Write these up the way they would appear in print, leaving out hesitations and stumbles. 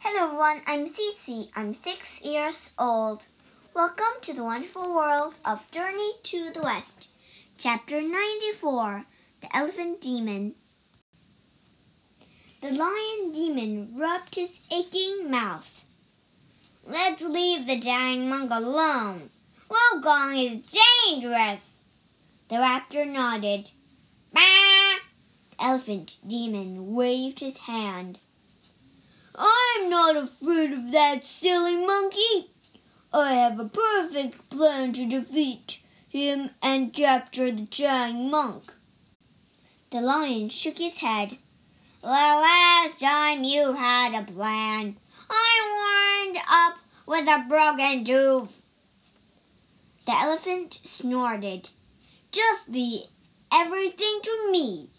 Hello everyone, I'm Cici. I'm 6 years old. Welcome to the wonderful world of Journey to the West. Chapter 94, The Elephant Demon. The lion demon rubbed his aching mouth. Let's leave the giant monk alone. Wukong is dangerous. The raptor nodded. Bah! The elephant demon waved his hand. I'm not afraid of that silly monkey. I have a perfect plan to defeat him and capture the giant monk. The lion shook his head. The last time you had a plan, I wound up with a broken tooth. The elephant snorted. Just leave everything to me.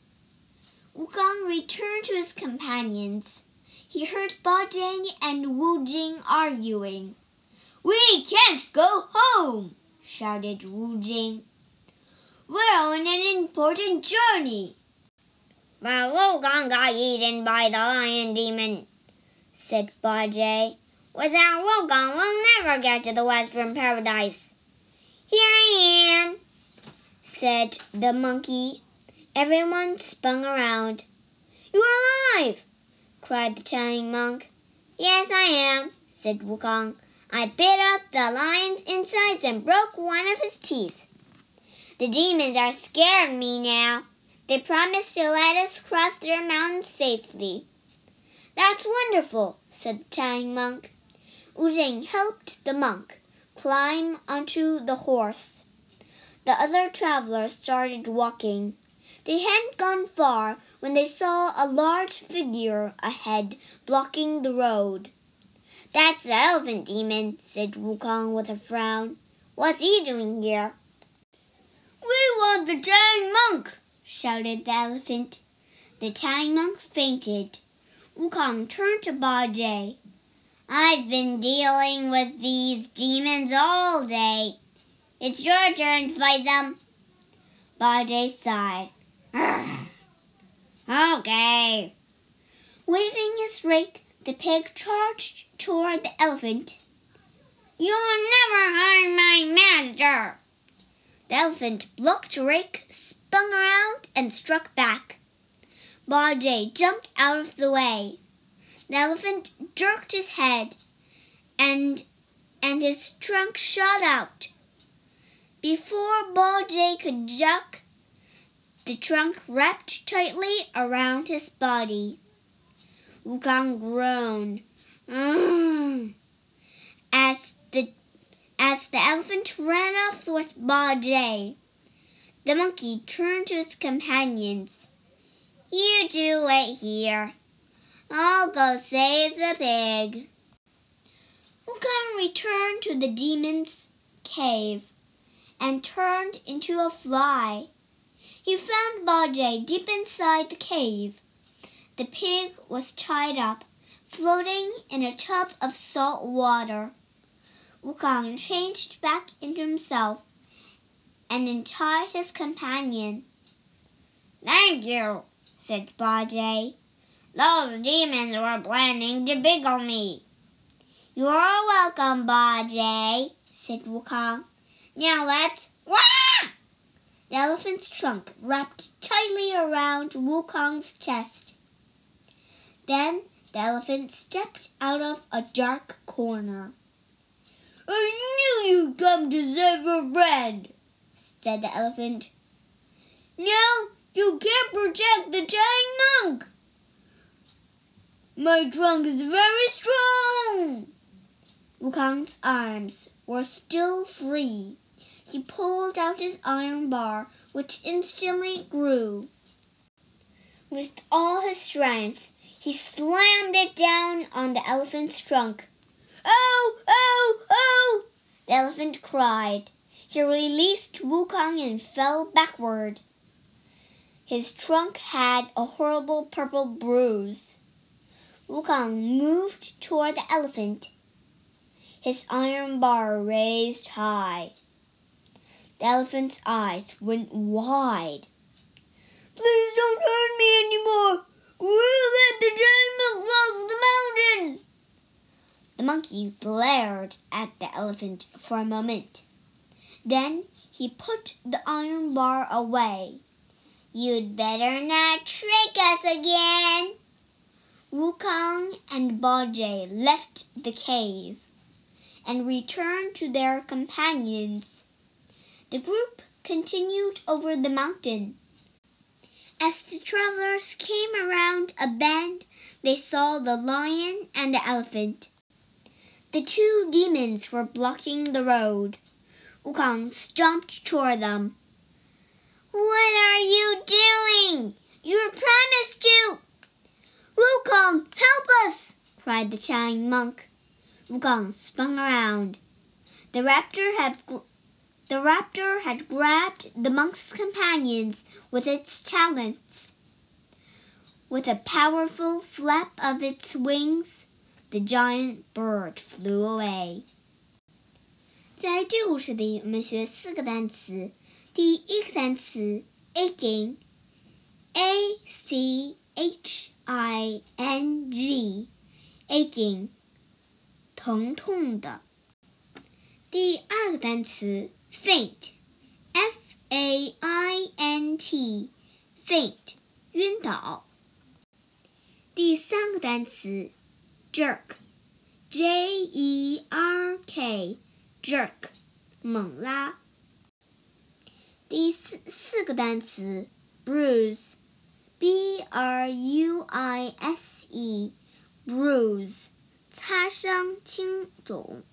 Wukong returned to his companions. He heard Ba Jing and Wu Jing arguing. We can't go home, shouted Wu Jing. We're on an important journey. But Wukong got eaten by the lion demon, said Ba Jing. Without Wukong, we'll never get to the Western Paradise. Here I am, said the monkey. Everyone spun around. You're alive, cried the giant monk. Yes, I am, said Wukong. I bit up the lion's insides and broke one of his teeth. The demons are scared of me now. They promised to let us cross their mountains safely. That's wonderful, said the giant monk. Wu Jing helped the monk climb onto the horse. The other travelers started walking. They hadn't gone far when they saw a large figure ahead blocking the road. That's the elephant demon, said Wukong with a frown. What's he doing here? We want the giant monk, shouted the elephant. The giant monk fainted. Wukong turned to Ba Jing. I've been dealing with these demons all day. It's your turn to fight them. Ba Jing sighed. Okay. Waving his rake, the pig charged toward the elephant. You'll never harm my master. The elephant blocked the rake, spun around, and struck back. Ba Jing jumped out of the way. The elephant jerked his head, and his trunk shot out. Before Ba Jing could duck, the trunk wrapped tightly around his body. Wukong groaned. As the elephant ran off with Ba Jing, the monkey turned to his companions. You two wait here. I'll go save the pig. Wukong returned to the demon's cave and turned into a fly. He found Ba Jing deep inside the cave. The pig was tied up, floating in a tub of salt water. Wukong changed back into himself and untied his companion. Thank you, said Ba Jing. Those demons were planning to pickle me. You're welcome, Ba Jing, said Wukong. Now let's... Wah! The elephant's trunk wrapped tightly around Wukong's chest. Then the elephant stepped out of a dark corner. I knew you'd come to save a friend, said the elephant. Now you can't protect the giant monk. My trunk is very strong. Wukong's arms were still free. He pulled out his iron bar, which instantly grew. With all his strength, he slammed it down on the elephant's trunk. Oh, oh, oh! The elephant cried. He released Wukong and fell backward. His trunk had a horrible purple bruise. Wukong moved toward the elephant, his iron bar raised high. The elephant's eyes went wide. Please don't hurt me anymore. We'll let the giant monk cross the mountain. The monkey glared at the elephant for a moment. Then he put the iron bar away. "You'd better not trick us again." Wukong and Bajie left the cave and returned to their companions. The group continued over the mountain. As the travelers came around a bend, they saw the lion and the elephant. The two demons were blocking the road. Wukong stomped toward them. "What are you doing? You promised to—" "Wukong, help us!" cried the Chinese monk. Wukong spun around. The raptor had grabbed the monk's companions with its talons. With a powerful flap of its wings, the giant bird flew away. 在这个故事里，我们学4个单词。第一个单词 aching, A-C-H-I-N-G, aching, 疼痛的。第二个单词 faint, F-A-I-N-T, faint, 晕倒。第三个单词 jerk, J-E-R-K, jerk, 猛拉。第四个单词 bruise, B-R-U-I-S-E, bruise, 擦伤、青肿。